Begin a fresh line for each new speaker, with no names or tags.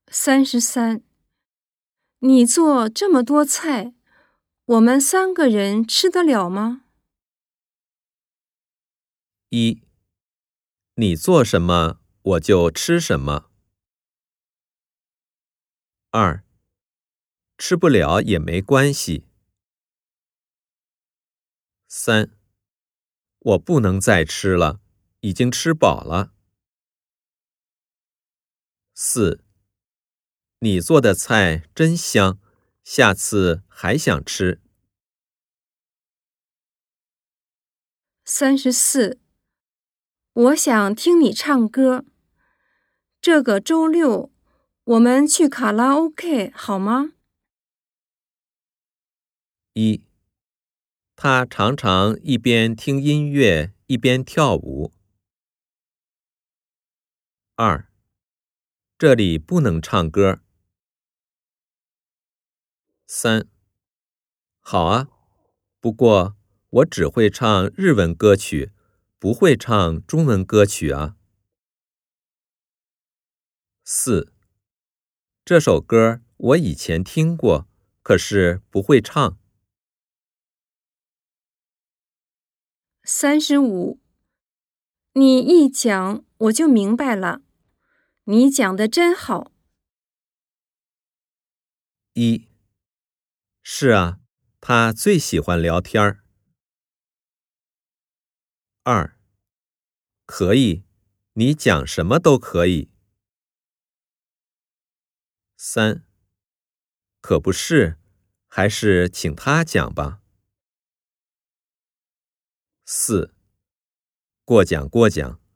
33，你做这么多菜，我们3个人吃得了吗
？1. 你做什么，我就吃什么。2. 吃不了也没关系。3. 我不能再吃了，已经吃饱了。4. 你做的菜真香，下次还想吃。
34，我想听你唱歌。这个周六，我们去卡拉 OK 好吗
1. 他常常一边听音乐一边跳舞。2. 这里不能唱歌。3. 好啊，不过我只会唱日文歌曲，不会唱中文歌曲啊。4. 这首歌我以前听过，可是不会唱。
35，你一讲我就明白了，你讲得真好。
1. 是啊，他最喜欢聊天儿。2. 可以，你讲什么都可以。3. 可不是，还是请他讲吧。4. 过奖过奖。